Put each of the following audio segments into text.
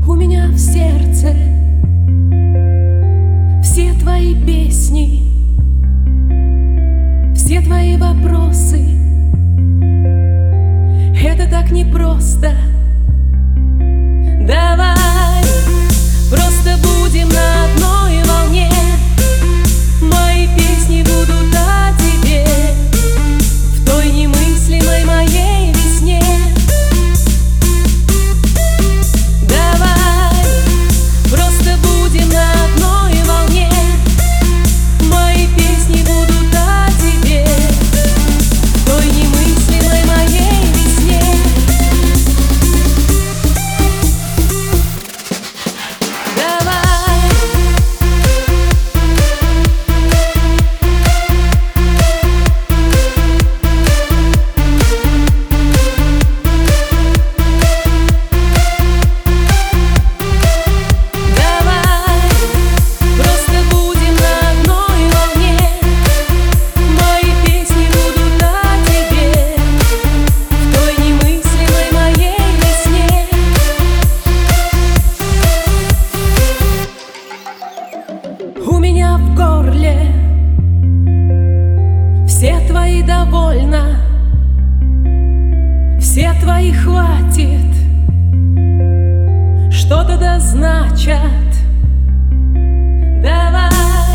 У меня в сердце все твои песни, все твои вопросы. Это так непросто. Давай просто будем на одной волне. Мои песни будут о тебе в той немыслимой моей весне. Давай просто будем на одной волне. Мои песни будут о тебе в той немыслимой моей весне. У меня в горле все твои довольно, все твои хватит, что-то да значат. Давай.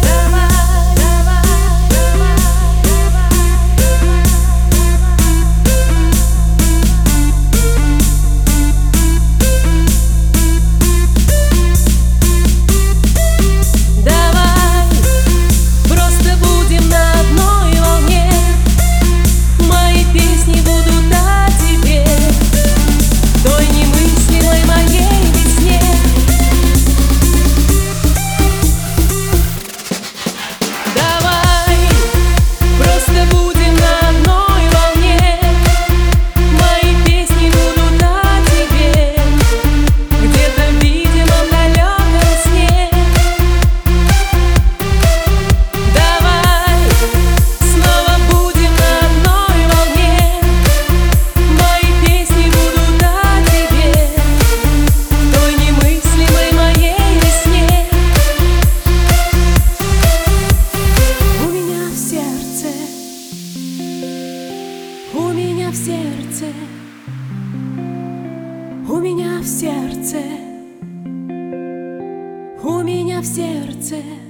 У меня в сердце, у меня в сердце